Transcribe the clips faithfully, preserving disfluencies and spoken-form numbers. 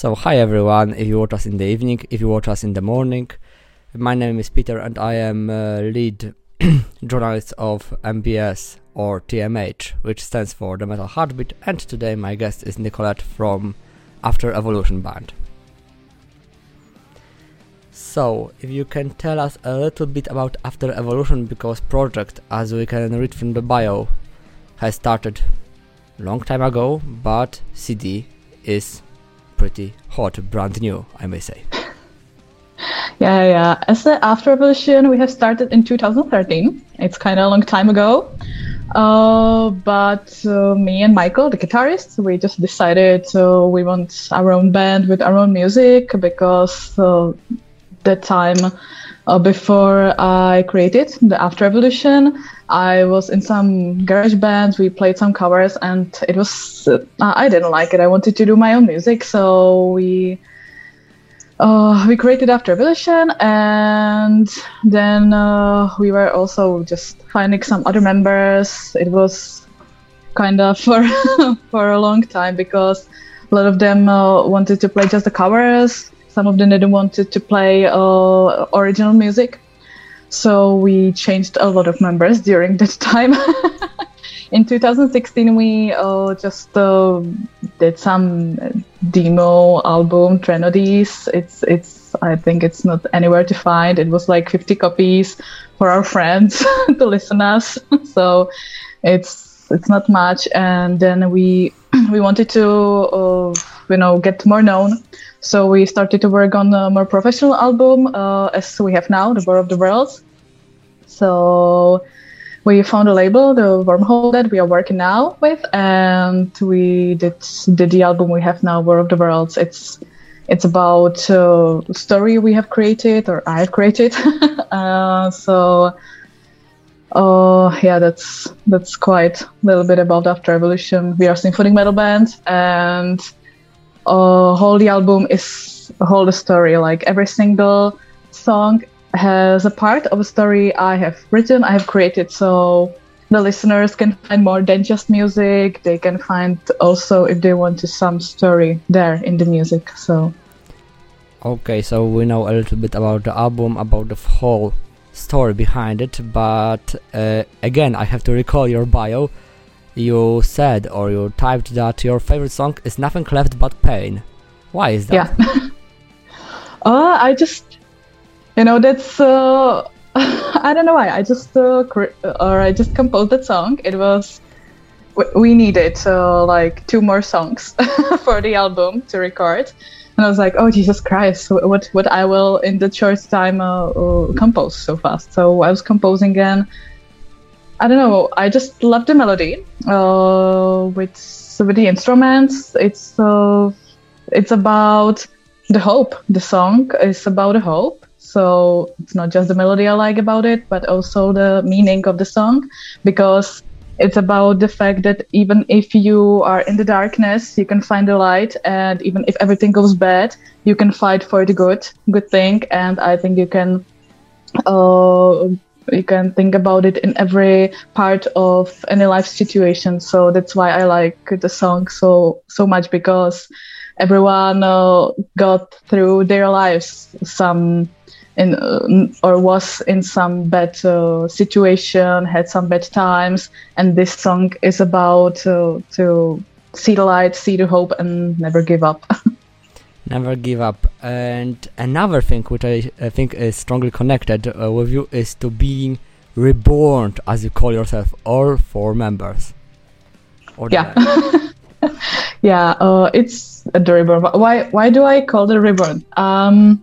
So hi everyone, if you watch us in the evening, if you watch us in the morning. My name is Peter and I am uh, lead journalist of M B S or T M H, which stands for The Metal Heartbeat, and today my guest is Nicolette from After Evolution Band. So, if you can tell us a little bit about After Evolution, because project, as we can read from the bio, has started long time ago, but C D is pretty hot, brand new, I may say. Yeah, yeah. As the After Evolution, we have started in two thousand thirteen. It's kind of a long time ago. Uh, but uh, me and Michael, the guitarist, we just decided uh, we want our own band with our own music, because uh, that time uh, before I created the After Evolution, I was in some garage bands, we played some covers, and it was, uh, I didn't like it. I wanted to do my own music, so we uh, we created After Evolution, and then uh, we were also just finding some other members. It was kind of for, for a long time, because a lot of them uh, wanted to play just the covers. Some of them didn't want to play uh, original music. So we changed a lot of members during that time. In two thousand sixteen, we uh, just uh, did some demo album, Trenodies. It's, it's, I think it's not anywhere to find. It was like fifty copies for our friends to listen us. So it's, it's not much. And then we, we wanted to, uh, you know, get more known. So we started to work on a more professional album, uh, as we have now, The War of the Worlds. So we found a label, the Wormhole, that we are working now with, and we did, did the album we have now, War of the Worlds. It's it's about a uh, story we have created, or I have created. uh, so uh, yeah, that's that's quite a little bit about After Evolution. We are a symphonic metal band, and uh, whole the album is a whole the story. Like every single song has a part of a story I have written, I have created, so the listeners can find more than just music. They can find also, if they want to, some story there in the music. So okay, so we know a little bit about the album, about the whole story behind it, but uh, again, I have to recall your bio. You said, or you typed, that your favorite song is Nothing Left But Pain. Why is that? Yeah. uh, I just You know, that's, uh, I don't know why, I just, uh, cre- or I just composed that song. It was, we needed, uh, like, two more songs for the album to record. And I was like, oh, Jesus Christ, what, what I will, in the short time, uh, uh, compose so fast. So I was composing, and I don't know, I just love the melody, uh, with, with the instruments. It's, uh, it's about the hope. The song is about a hope. So it's not just the melody I like about it, but also the meaning of the song, because it's about the fact that even if you are in the darkness, you can find the light, and even if everything goes bad, you can fight for the good, good thing. And I think you can, uh, you can think about it in every part of any life situation. So that's why I like the song so so much, because everyone uh, got through their lives some. In, uh, or was in some bad uh, situation, had some bad times, and this song is about uh, to see the light, see the hope, and never give up. Never give up. And another thing which I, I think is strongly connected uh, with you is to being reborn, as you call yourself, all four members. Or yeah. yeah, uh, it's the reborn. Why, why do I call it reborn? Um,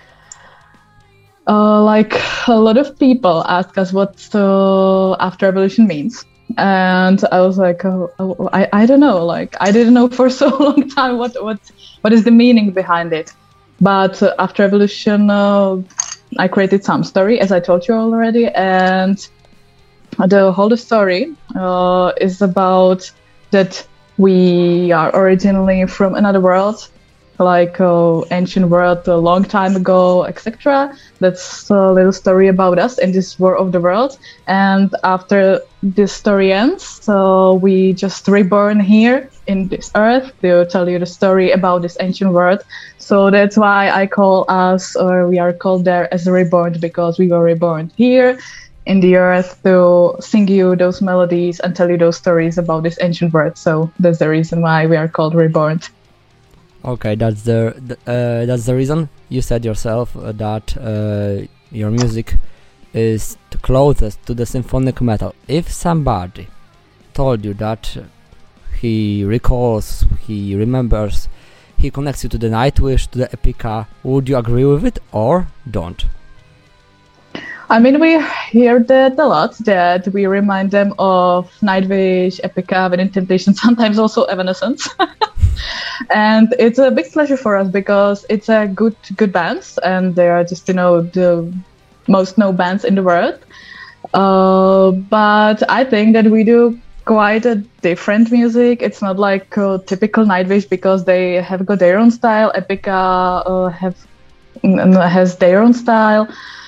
Uh, like a lot of people ask us what uh, After Evolution means, and I was like, oh, oh, I, I don't know. Like I didn't know for so long time what what what is the meaning behind it. But uh, After Evolution, uh, I created some story, as I told you already, and the whole story uh, is about that we are originally from another world. like uh, ancient world a long time ago, et cetera. That's a little story about us in this war of the world. And after this story ends, so we just reborn here in this earth to tell you the story about this ancient world. So that's why I call us, or we are called there as reborn, because we were reborn here in the earth to sing you those melodies and tell you those stories about this ancient world. So that's the reason why we are called reborn. Okay, that's the, the uh, that's the reason. You said yourself uh, that uh, your music is the closest to the symphonic metal. If somebody told you that he recalls, he remembers, he connects you to the Nightwish, to the Epica, would you agree with it or don't? I mean, we hear that a lot, that we remind them of Nightwish, Epica, Wedding Temptation, sometimes also Evanescence. And it's a big pleasure for us because it's a good good bands, and they are just, you know, the most known bands in the world. Uh, but I think that we do quite a different music. It's not like uh, typical Nightwish, because they have got their own style. Epica uh, have has their own style.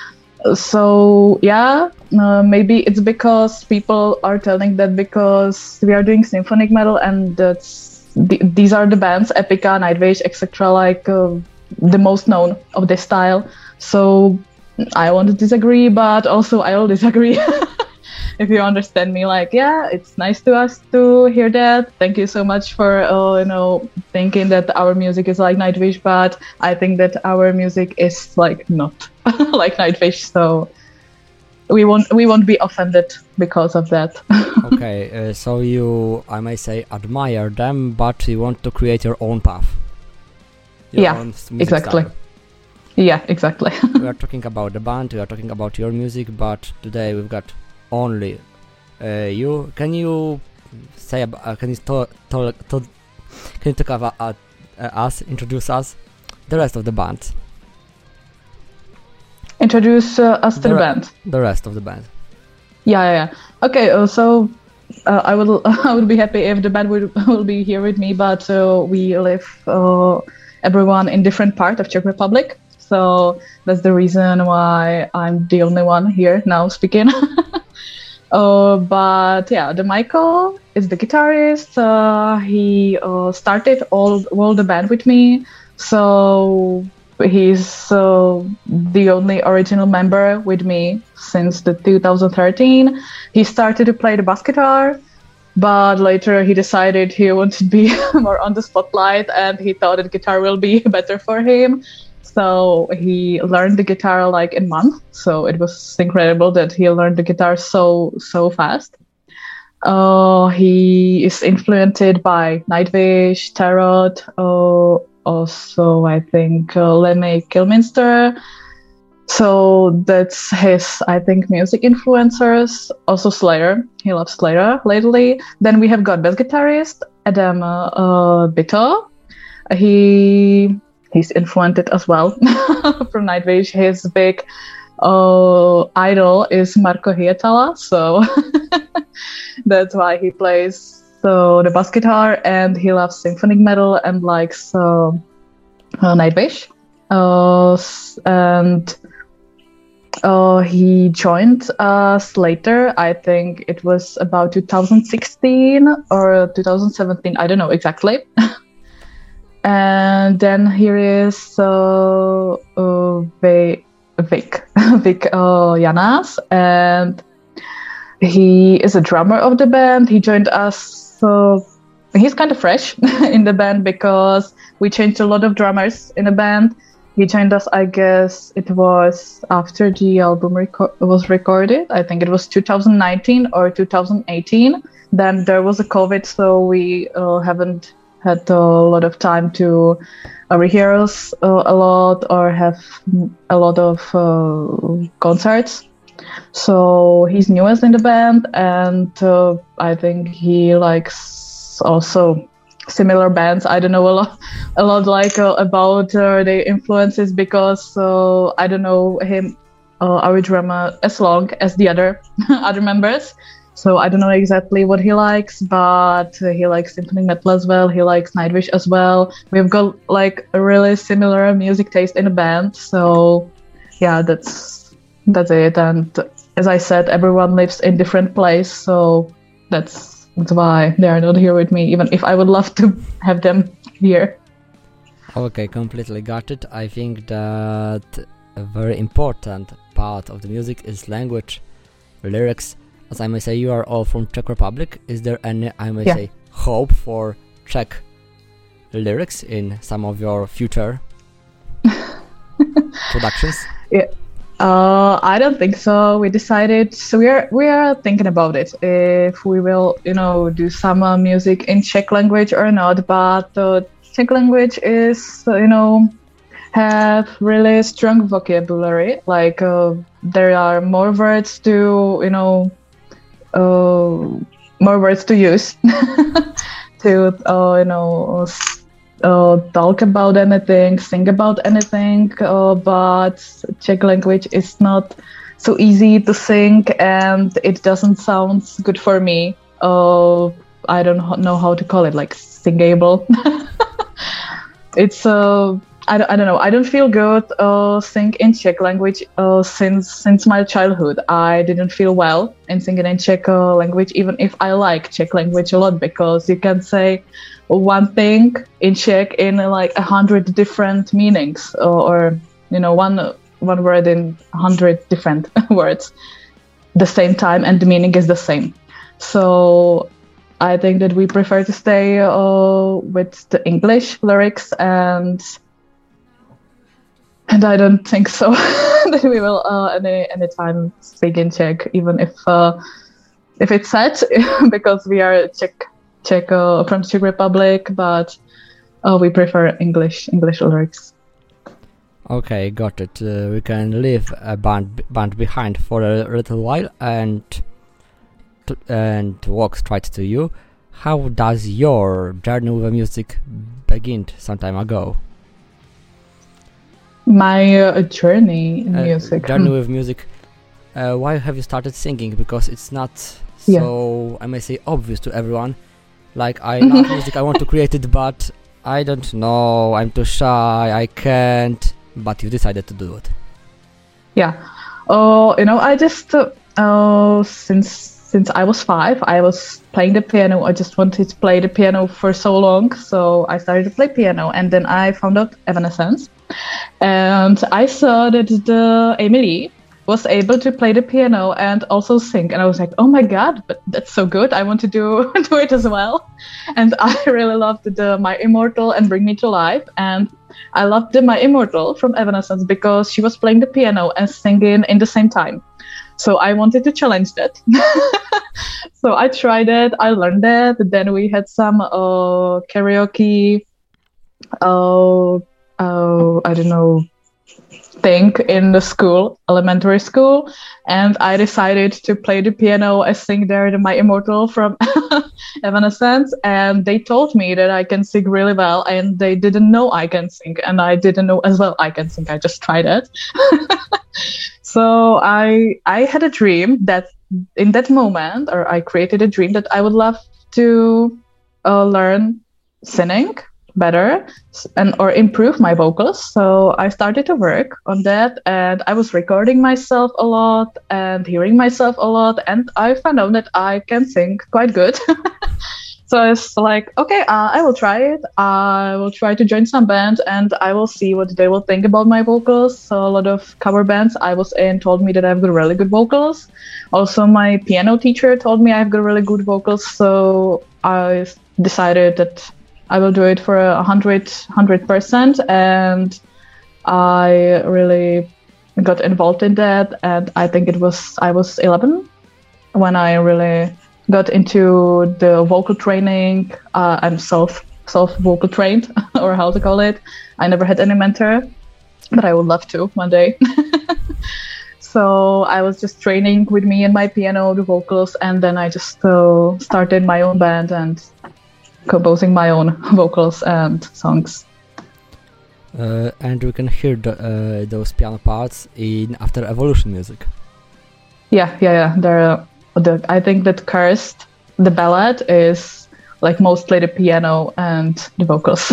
So yeah, uh, maybe it's because people are telling that because we are doing symphonic metal, and that's the, these are the bands, Epica, Nightwish, et cetera, like uh, the most known of this style. So I want to disagree, but also I will disagree. If you understand me, like, yeah, it's nice to us to hear that. Thank you so much for, uh, you know, thinking that our music is like Nightwish, but I think that our music is like not like Nightwish. So we won't we won't be offended because of that. Okay, uh, so you, I may say, admire them, but you want to create your own path. Your yeah, own music exactly. style. Yeah, exactly. We are talking about the band, we are talking about your music, but today we've got only uh, you. Can you say about, uh, can you talk, talk, talk can you talk about uh, uh, us, introduce us, the rest of the band? Introduce uh, us to the, the re- band. The rest of the band. Yeah, yeah, yeah. Okay, uh, so uh, I will I would be happy if the band would will be here with me, but uh, we live uh, everyone in different part of Czech Republic. So that's the reason why I'm the only one here now speaking. uh, but yeah, the Michael is the guitarist. Uh, he uh, started all all the band with me. So he's uh, the only original member with me since the two thousand thirteen. He started to play the bass guitar, but later he decided he wanted to be more on the spotlight, and he thought that guitar will be better for him. So he learned the guitar like in a month. So it was incredible that he learned the guitar so, so fast. Uh, he is influenced by Nightwish, Tarot, uh, also I think uh, Lemmy Kilminster. So that's his, I think, music influencers. Also Slayer. He loves Slayer lately. Then we have got bass guitarist Adam uh, uh, Bitto. He... He's influenced as well from Nightwish. His big uh, idol is Marco Hietala, so that's why he plays so the bass guitar, and he loves symphonic metal and likes uh, uh, Nightwish. Uh, and uh, he joined us later. I think it was about two thousand sixteen or two thousand seventeen. I don't know exactly. And then here is uh, uh, Vic, Vic, Vic uh, Janas, and he is a drummer of the band. He joined us, so he's kind of fresh in the band because we changed a lot of drummers in the band. He joined us, I guess it was after the album reco- was recorded. I think it was two thousand nineteen or two thousand eighteen. Then there was a COVID, so we uh, haven't had a lot of time to uh, rehearse uh, a lot or have a lot of uh, concerts. So he's newest in the band, and uh, I think he likes also similar bands. I don't know a lot, a lot like uh, about uh, the influences because uh, I don't know him, uh, our drummer, as long as the other other members. So I don't know exactly what he likes, but uh, he likes symphonic metal as well. He likes Nightwish as well. We've got like a really similar music taste in the band. So yeah, that's that's it. And as I said, everyone lives in different place, so that's that's why they are not here with me. Even if I would love to have them here. Okay, completely got it. I think that a very important part of the music is language, lyrics. As I may say, you are all from Czech Republic. Is there any, I may Yeah. say, hope for Czech lyrics in some of your future productions? Yeah. Uh, I don't think so. We decided, so we are we are thinking about it if we will, you know, do some uh, music in Czech language or not. But the Czech language is, uh, you know, have really strong vocabulary. Like uh, there are more words to, you know, uh, more words to use to, uh, you know, s- uh, talk about anything, sing about anything. Uh, but Czech language is not so easy to sing, and it doesn't sound good for me. Uh, I don't ho- know how to call it, like singable. It's uh, I don't, I don't know. I don't feel good uh, sing in Czech language uh, since since my childhood. I didn't feel well in singing in Czech uh, language, even if I like Czech language a lot, because you can say one thing in Czech in uh, like a hundred different meanings, or, or you know, one one word in a hundred different words, the same time, and the meaning is the same. So I think that we prefer to stay uh, with the English lyrics, and and I don't think so that we will uh, any any time speak in Czech, even if uh, if it's sad because we are Czech Czech uh, from Czech Republic, but uh, we prefer English English lyrics. Okay, got it. Uh, we can leave a band band behind for a little while and t- and walk straight to you. How does your journey with music begin some time ago? My uh, journey in Uh, music. journey Hmm. with music. Uh, why have you started singing? Because it's not Yeah. so, I may say, obvious to everyone. Like, I love music, I want to create it, but I don't know, I'm too shy, I can't. But you decided to do it. Yeah. Oh, you know, I just uh, uh, since since I was five, I was playing the piano. I just wanted to play the piano for so long, so I started to play piano, and then I found out Evanescence, and I saw that the Emily was able to play the piano and also sing, and I was like, oh my god, but that's so good! I want to do do it as well, and I really loved the My Immortal and Bring Me to Life, and I loved the My Immortal from Evanescence because she was playing the piano and singing in the same time. So I wanted to challenge that. So I tried it, I learned that. Then we had some uh, karaoke, uh, uh, I don't know, thing in the school, elementary school. And I decided to play the piano and sing there the My Immortal from Evanescence. And they told me that I can sing really well, and they didn't know I can sing. And I didn't know as well I can sing. I just tried it. So I I had a dream that in that moment, or I created a dream that I would love to uh, learn singing better and or improve my vocals. So I started to work on that, and I was recording myself a lot and hearing myself a lot, and I found out that I can sing quite good. So I was like, okay, uh, I will try it. I will try to join some band, and I will see what they will think about my vocals. So a lot of cover bands I was in told me that I've got really good vocals. Also, my piano teacher told me I've got really good vocals. So I decided that I will do it for a hundred hundred percent, and I really got involved in that. And I think it was I was eleven when I really got into the vocal training. Uh, I'm self self vocal trained, or how to call it. I never had any mentor, but I would love to one day. So I was just training with me and my piano, the vocals, and then I just uh, started my own band and composing my own vocals and songs. Uh, and we can hear the, uh, those piano parts in After Evolution music. Yeah, yeah, yeah. They're the I think that Cursed, the ballad, is like mostly the piano and the vocals.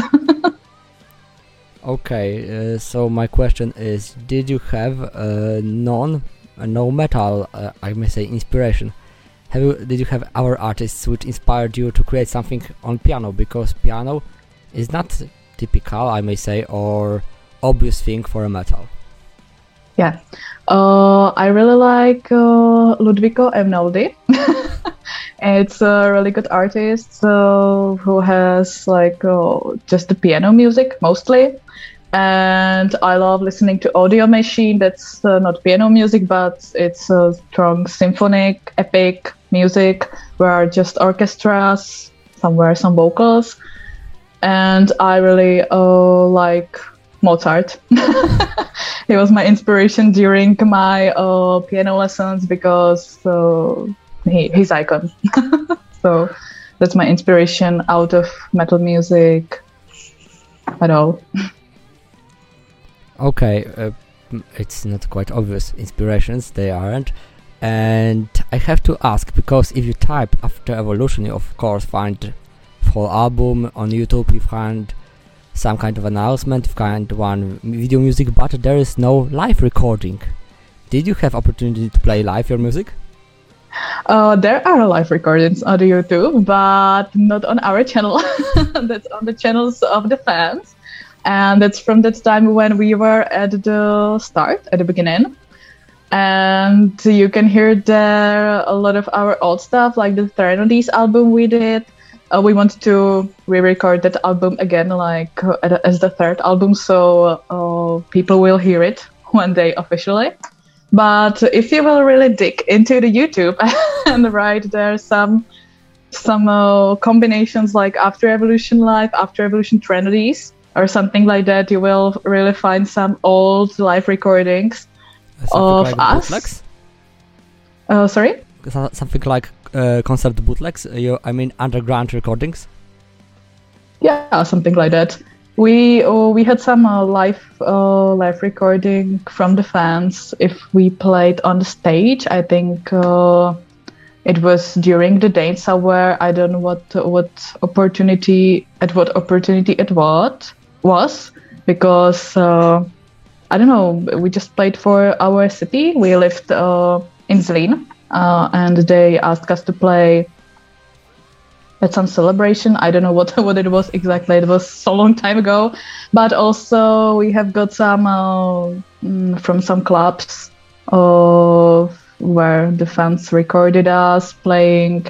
Okay, uh, so my question is, did you have a non, a no metal, uh, I may say, inspiration? Have you, did you have our artists which inspired you to create something on piano? Because piano is not typical, I may say, or obvious thing for a metal. Yeah, uh, I really like uh, Ludwiko Einaudi. It's a really good artist uh, who has like uh, just the piano music mostly. And I love listening to Audio Machine. That's uh, not piano music, but it's a uh, strong symphonic, epic music where just orchestras, somewhere some vocals. And I really uh, like Mozart. He was my inspiration during my uh, piano lessons because uh, he, he's icon. So that's my inspiration out of metal music at all. Okay, uh, it's not quite obvious inspirations, they aren't. And I have to ask, because if you type After Evolution, you of course find full album on YouTube, you find some kind of announcement, you find one video music, but there is no live recording. Did you have opportunity to play live your music? Uh, there are live recordings on YouTube, but not on our channel. That's on the channels of the fans. And that's from that time when we were at the start, at the beginning. And you can hear there a lot of our old stuff, like the Threnodies album we did. Uh, we wanted to re-record that album again, like uh, as the third album, so uh, people will hear it one day officially. But if you will really dig into the YouTube and right there some some uh, combinations like After Evolution Live, After Evolution Threnodies, or something like that, you will really find some old live recordings Something of like us. Bootlegs? Uh, sorry? Something like uh, concert bootlegs, uh, you, I mean underground recordings? Yeah, something like that. We uh, we had some uh, live uh, live recording from the fans. If we played on the stage, I think uh, it was during the day somewhere. I don't know what what opportunity at what opportunity it was was because uh, I don't know. We just played for our city. We lived uh, in Zlín, uh, and they asked us to play at some celebration. I don't know what what it was exactly. It was so long time ago. But also we have got some uh, mm, from some clubs uh, where the fans recorded us playing.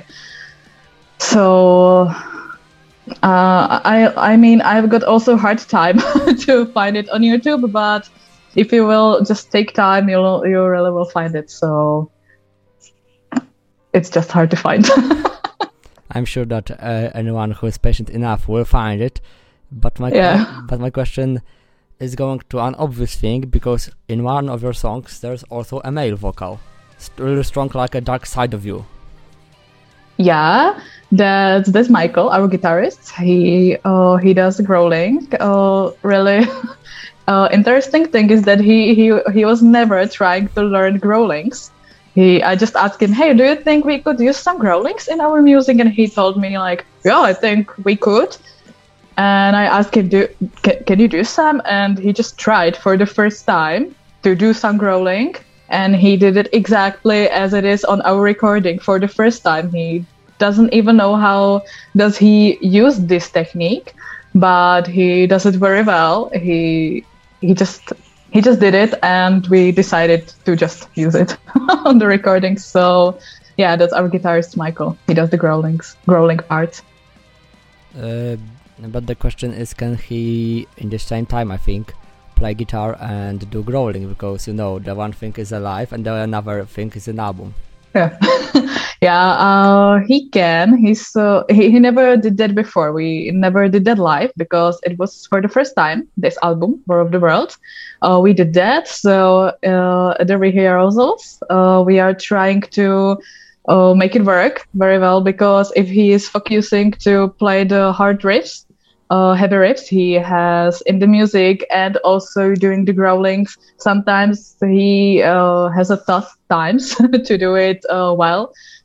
So uh, I I mean I've got also hard time to find it on YouTube, but if you will just take time, you'll you really will find it. So it's just hard to find. I'm sure that uh, anyone who is patient enough will find it, but my yeah. que- but my question is going to an obvious thing, because in one of your songs there's also a male vocal, St- really strong, like a dark side of you. Yeah, that's that's Michael, our guitarist. He uh, he does growling. Uh, really uh, interesting thing is that he he he was never trying to learn growlings. He, I just asked him, hey, do you think we could use some growlings in our music? And he told me, like, yeah, I think we could. And I asked him, do, can, can you do some? And he just tried for the first time to do some growling. And he did it exactly as it is on our recording for the first time. He doesn't even know how does he use this technique, but he does it very well. He he just... He just did it, and we decided to just use it on the recording. So, yeah, that's our guitarist Michael. He does the growlings, growling part. Uh, but the question is, can he, in the same time, I think, play guitar and do growling? Because, you know, the one thing is a live, and the another thing is an album. Yeah, yeah, uh, he can. He's uh, he, he never did that before. We never did that live because it was for the first time. This album, War of the World, uh, we did that. So uh, at the rehearsals, uh, we are trying to uh, make it work very well, because if he is focusing to play the hard riffs, uh, heavy riffs he has in the music, and also doing the growlings, sometimes he uh, has a tough times to do it uh, well,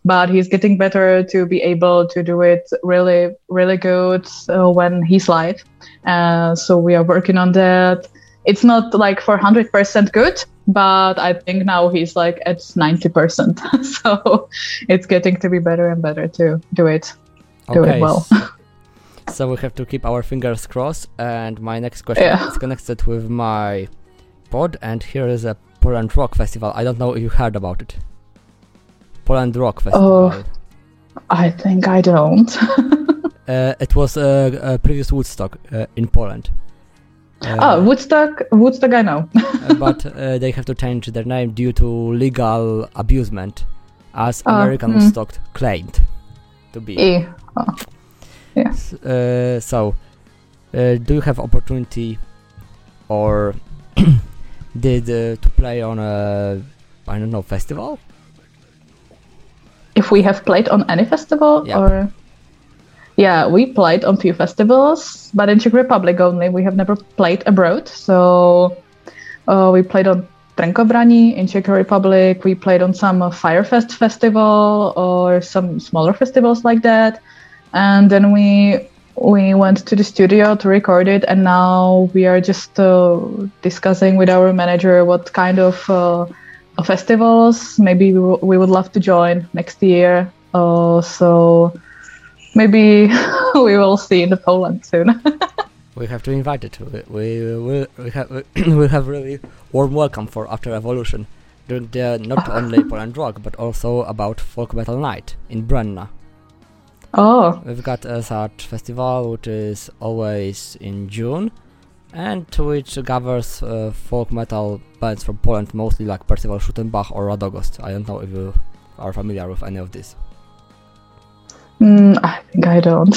but he's getting better to be able to do it really, really good uh, when he's live. Uh, so we are working on that. It's not like for one hundred percent good, but I think now he's like at ninety percent. So it's getting to be better and better to do it, do okay, it well. So we have to keep our fingers crossed. And my next question Yeah. is connected with my pod, and here is a Poland Rock Festival. I don't know if you heard about it. Poland Rock Festival. Oh, I think I don't. Uh, it was uh, a previous Woodstock uh, in Poland. Uh, Oh, Woodstock, Woodstock, I know. uh, but uh, they have to change their name due to legal abusement, as Ah, American mm. Woodstock claimed to be. E. Oh. S- Uh, so, uh, do you have opportunity, or did uh, to play on a, I don't know, festival? If we have played on any festival, Yeah. or yeah, we played on few festivals, but in Czech Republic only. We have never played abroad. So uh, we played on Trenkobrani in Czech Republic. We played on some uh, Firefest festival or some smaller festivals like that, and then we we went to the studio to record it. And now we are just uh, discussing with our manager what kind of uh, festivals maybe we, w- we would love to join next year. Uh, so maybe we will see in the Poland soon. We have to invite it. We we we, we have we have really warm welcome for After Evolution during the not only Poland Rock but also about Folk Metal Night in Brunna. Oh, We've got a such festival which is always in June, and which gathers uh, folk metal bands from Poland, mostly like Percival Schuttenbach or Radogost. I don't know if you are familiar with any of this. mm, I think I don't.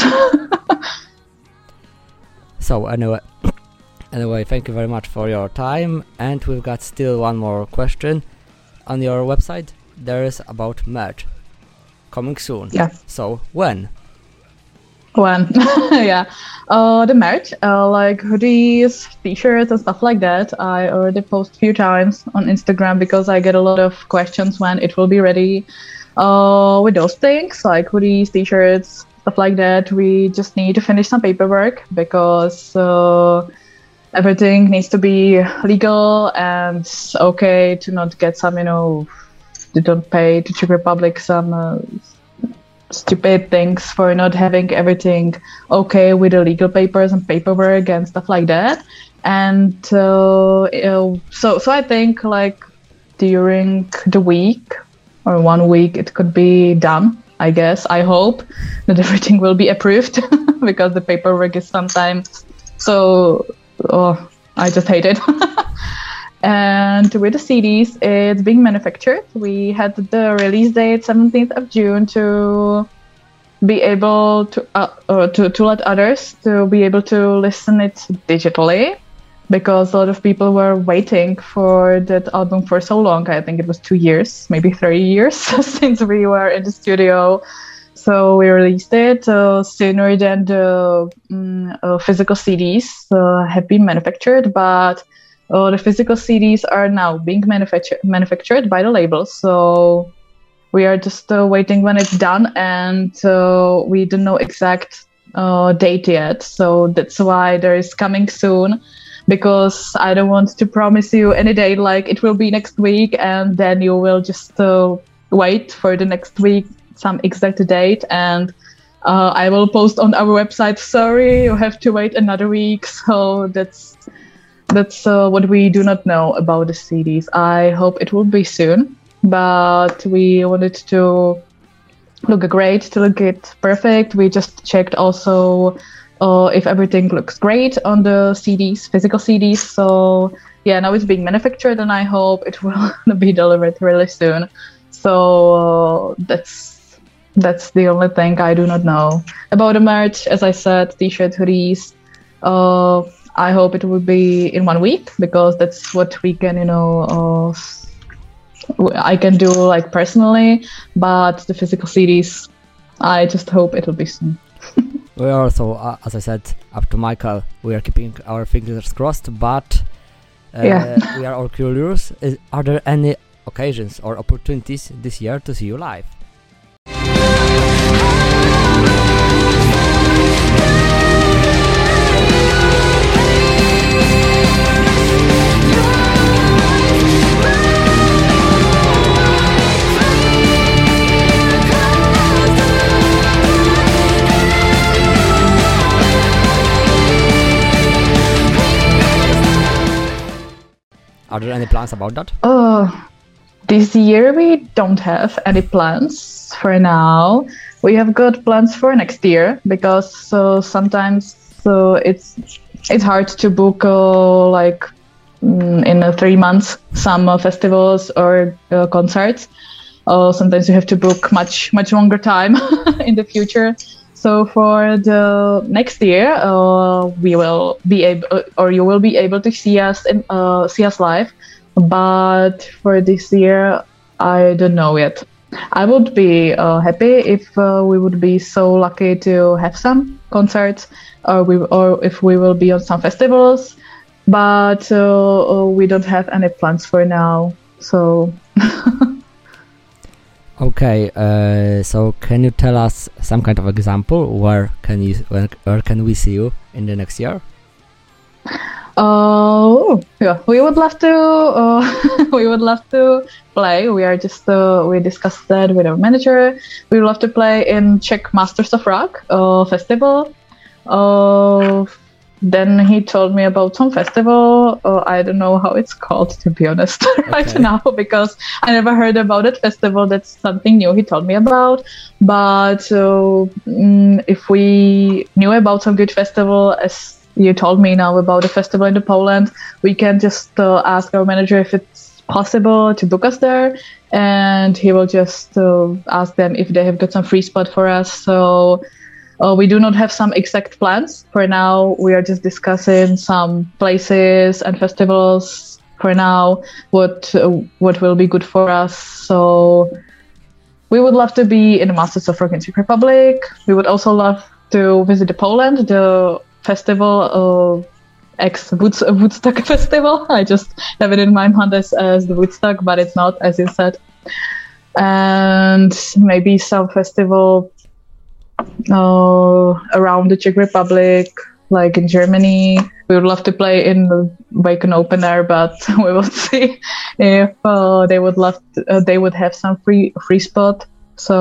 So anyway, anyway, thank you very much for your time, and we've got still one more question. On your website, there is about merch coming soon. Yeah. So when? When? Yeah. Uh, the merch, uh, like hoodies, t-shirts, and stuff like that, I already post a few times on Instagram because I get a lot of questions when it will be ready. Uh, with those things, like hoodies, t-shirts, stuff like that, we just need to finish some paperwork because uh, everything needs to be legal and okay to not get some, you know, they don't pay to Czech Republic some uh, stupid things for not having everything okay with the legal papers and paperwork and stuff like that. And uh, uh, so, so I think like during the week or one week it could be done. I guess I hope that everything will be approved because the paperwork is sometimes so. Oh, I just hate it. And with the C Ds, it's being manufactured. We had the release date seventeenth of June to be able to uh, uh, to to let others to be able to listen it digitally, because a lot of people were waiting for that album for so long. I think it was two years, maybe three years since we were in the studio. So we released it uh, sooner than the um, uh, physical C Ds uh, have been manufactured, but uh, the physical C Ds are now being manufactured manufactured by the label. So we are just uh, waiting when it's done, and uh, we don't know exact uh, date yet. So that's why there is coming soon, because I don't want to promise you any date like it will be next week, and then you will just uh, wait for the next week some exact date, and uh, I will post on our website, sorry, you have to wait another week. So that's that's uh, what we do not know about the C Ds. I hope it will be soon, but we wanted to look great, to look it perfect. We just checked also uh, if everything looks great on the C Ds, physical C Ds. So yeah, now it's being manufactured, and I hope it will be delivered really soon. So uh, that's That's the only thing I do not know about the merch. As I said, t-shirt, hoodies. Uh, I hope it will be in one week, because that's what we can, you know, uh, I can do like personally. But the physical C Ds, I just hope it will be soon. We are also, uh, as I said, up to Michael, we are keeping our fingers crossed, but uh, Yeah. we are all curious. Is, are there any occasions or opportunities this year to see you live? Are there any plans about that? Uh, this year we don't have any plans for now. We have got plans for next year because so sometimes so it's it's hard to book uh, like mm, in uh, three months some uh, festivals or uh, concerts. Uh, sometimes you have to book much much longer time in the future. So for the next year, uh, we will be able, or you will be able to see us in, uh, see us live. But for this year, I don't know yet. I would be uh, happy if uh, we would be so lucky to have some concerts, or we, or if we will be on some festivals. But uh, we don't have any plans for now. So. Okay, uh, so can you tell us some kind of example where can you where, where can we see you in the next year? Oh, yeah, we would love to. Uh, we would love to play. We are just uh, we discussed that with our manager. We would love to play in Czech Masters of Rock uh, festival. Uh, Then he told me about some festival. Uh, I don't know how it's called, to be honest, right Okay. now, because I never heard about it. Festival, that's something new he told me about. But uh, mm, if we knew about some good festival, as you told me now about a festival in the Poland, we can just uh, ask our manager if it's possible to book us there. And he will just uh, ask them if they have got some free spot for us. So Uh, we do not have some exact plans for now. We are just discussing some places and festivals for now. What uh, what will be good for us? So we would love to be in the Masters of Rock in Czech Republic. We would also love to visit the Poland, the festival of ex Woodstock festival. I just have it in my mind as, as the Woodstock, but it's not, as you said. And maybe some festival Uh, around the Czech Republic, like in Germany. We would love to play in the Wacken Open Air, but we will see if uh, they would love to, uh, they would have some free free spot. So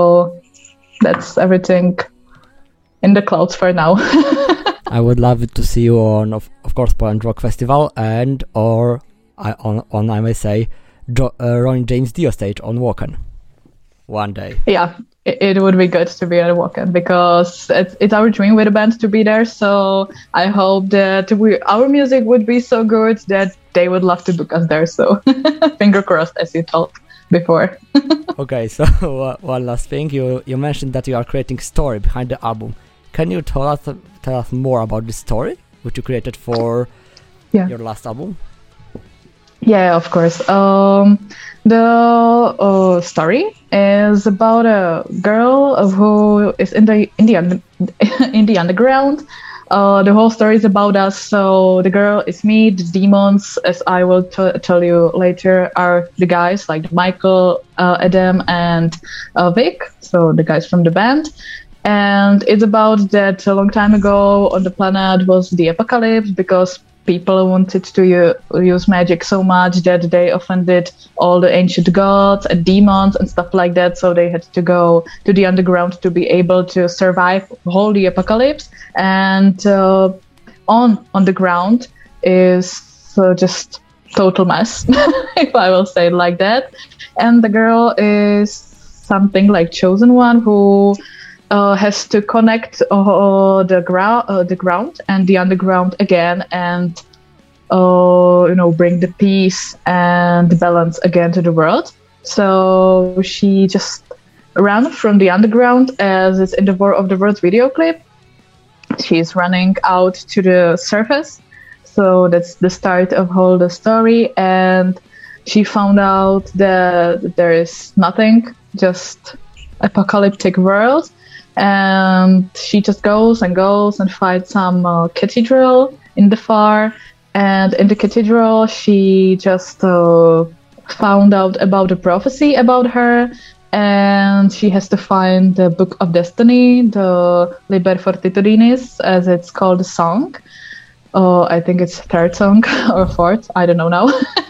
that's everything in the clouds for now. I would love to see you on, of, of course, Poland Rock Festival and or I, on on I may say, jo- uh, Ronnie James Dio stage on Wacken one day. Yeah. It would be good to be at a Wacken because it's, it's our dream with a band to be there. So I hope that we our music would be so good that they would love to book us there. So finger crossed, as you told before. Okay, so uh, one last thing. You you mentioned that you are creating story behind the album. Can you tell us tell us more about this story which you created for Yeah. your last album? Yeah, of course. Um, the uh, story is about a girl who is in the in the under, in the underground. Uh, the whole story is about us. So the girl is me. The demons, as I will t- tell you later, are the guys like Michael, uh, Adam, and uh, Vic. So the guys from the band. And it's about that a long time ago on the planet was the apocalypse because people wanted to u- use magic so much that they offended all the ancient gods and demons and stuff like that. So they had to go to the underground to be able to survive whole the apocalypse. And uh, on on the ground is uh, just total mess, if I will say it like that. And the girl is something like chosen one who Uh, has to connect uh, the ground, uh, the ground and the underground again, and uh, you know, bring the peace and the balance again to the world. So she just ran from the underground, as it's in the War of the Worlds video clip. She's running out to the surface, so that's the start of whole the story. And she found out that there is nothing, just apocalyptic world. And she just goes and goes and fights some uh, cathedral in the far. And in the cathedral, she just uh, found out about the prophecy about her. and she has to find the Book of Destiny, the Liber Fortitudinis, as it's called, a song. Uh, I think it's third song or fourth, I don't know now.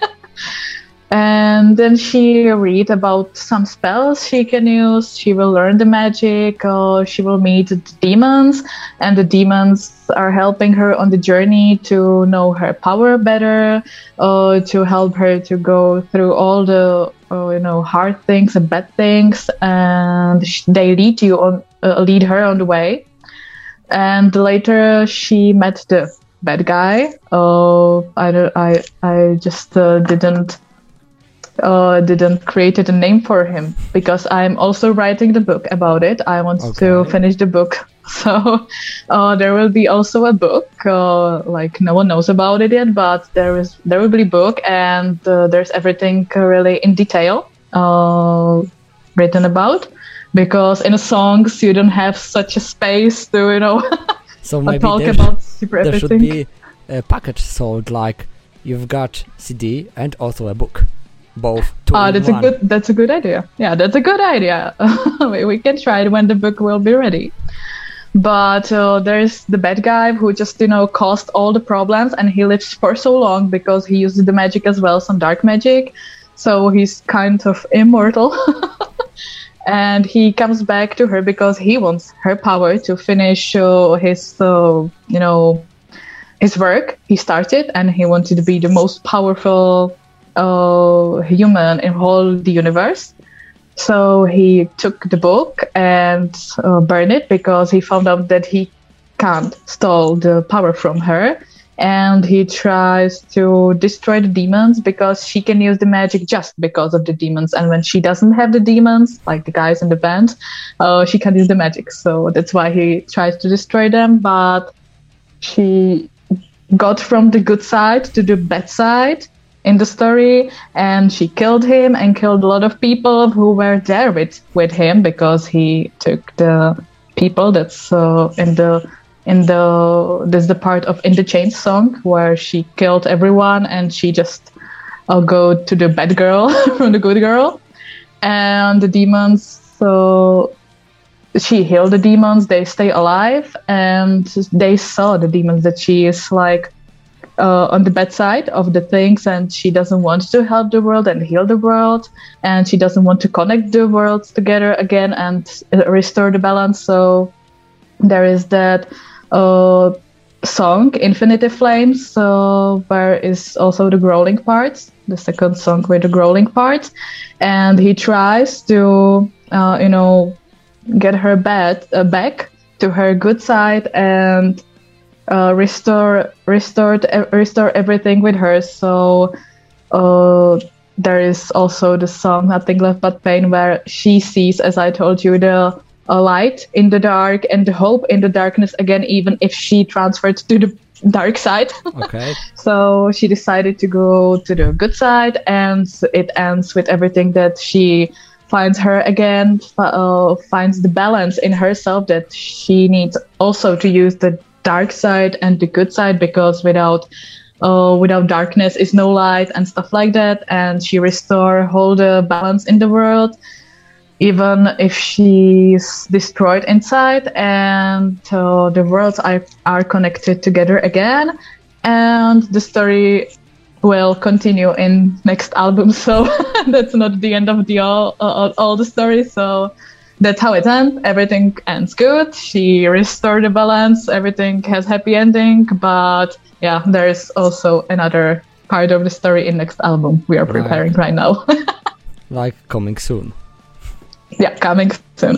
And then she read about some spells she can use. She will learn the magic. Uh, she will meet the demons, and the demons are helping her on the journey to know her power better, uh, to help her to go through all the uh, you know hard things and bad things, and sh- they lead you on, uh, lead her on the way. And later she met the bad guy. Uh, I don't- I I just uh, didn't. Uh, didn't created a name for him because I'm also writing the book about it. I want Okay. to finish the book, so uh, there will be also a book. Uh, like no one knows about it yet, but there is there will be a book, and uh, there's everything really in detail uh, written about. Because in a songs you don't have such a space to you know So maybe talk there, about super there should everything. be a package sold, like you've got C D and also a book. Both. Two Ah, in that's one. a good. That's a good idea. Yeah, that's a good idea. we, we can try it when the book will be ready. But uh, there's the bad guy who just you know caused all the problems, and he lives for so long because he uses the magic as well, some dark magic. So he's kind of immortal. And he comes back to her because he wants her power to finish uh, his, uh, you know, his work he started, and he wanted to be the most powerful uh, human in whole the universe. So he took the book and uh, burned it because he found out that he can't steal the power from her. And he tries to destroy the demons because she can use the magic just because of the demons. And when she doesn't have the demons, like the guys in the band, uh, she can use the magic. So that's why he tries to destroy them. But she got from the good side to the bad side in the story, and she killed him and killed a lot of people who were there with, with him because he took the people that's uh, in the in the there's the part of In the Chains song where she killed everyone and she just uh, go to the bad girl from the good girl, and the demons, so she healed the demons, they stay alive, and they saw the demons that she is like uh, on the bad side of the things, and she doesn't want to help the world and heal the world, and she doesn't want to connect the worlds together again and uh, restore the balance. So there is that uh, song Infinite Flames, uh, where is also the growling parts, the second song with the growling parts, and he tries to uh, you know get her bad, uh, back to her good side and uh, restore restored uh, restore everything with her. So uh, there is also the song Nothing Left But Pain, where she sees, as I told you, the a light in the dark and the hope in the darkness again, even if she transferred to the dark side. Okay. So she decided to go to the good side, and it ends with everything that she finds her again, uh, finds the balance in herself that she needs also to use the dark side and the good side, because without uh, without darkness is no light and stuff like that. And she restore whole the balance in the world, even if she's destroyed inside, and uh, the worlds are, are connected together again. And the story will continue in next album, so that's not the end of the all, uh, all the story. So that's how it ends. Everything ends good. She restored the balance. Everything has happy ending. But yeah, there is also another part of the story in next album we are preparing right, right now. Like coming soon. Yeah, coming soon.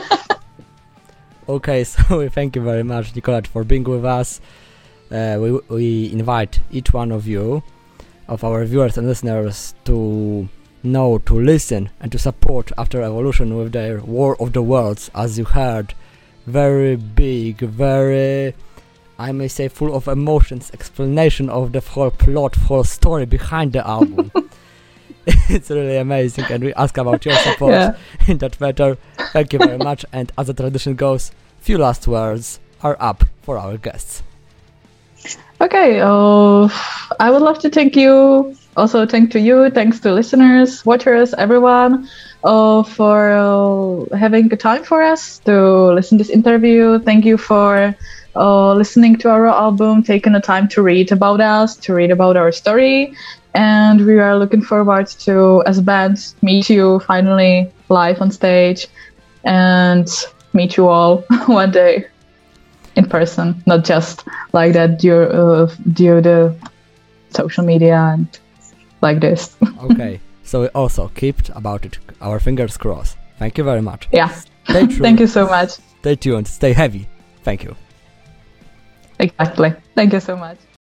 Okay, so we thank you very much, Nicolette, for being with us. Uh, we we invite each one of you, of our viewers and listeners, to know, to listen, and to support After Evolution with their War of the Worlds. As you heard, very big, very, I may say, full of emotions, explanation of the whole plot, whole story behind the album. It's really amazing, and we ask about your support yeah. in that matter. Thank you very much, and as the tradition goes, few last words are up for our guests. Okay, uh, I would love to thank you, also thank to you, thanks to listeners, watchers, everyone. uh, for uh, having the time for us to listen to this interview. Thank you for uh, listening to our album, taking the time to read about us, to read about our story. And we are looking forward to, as a band, meet you finally live on stage and meet you all one day in person, not just like that due, uh, due to social media and like this. Okay, so also keep about it, our fingers crossed. Thank you very much. Yeah. Stay true. Thank you so much. Stay tuned, stay heavy. Thank you. Exactly. Thank you so much.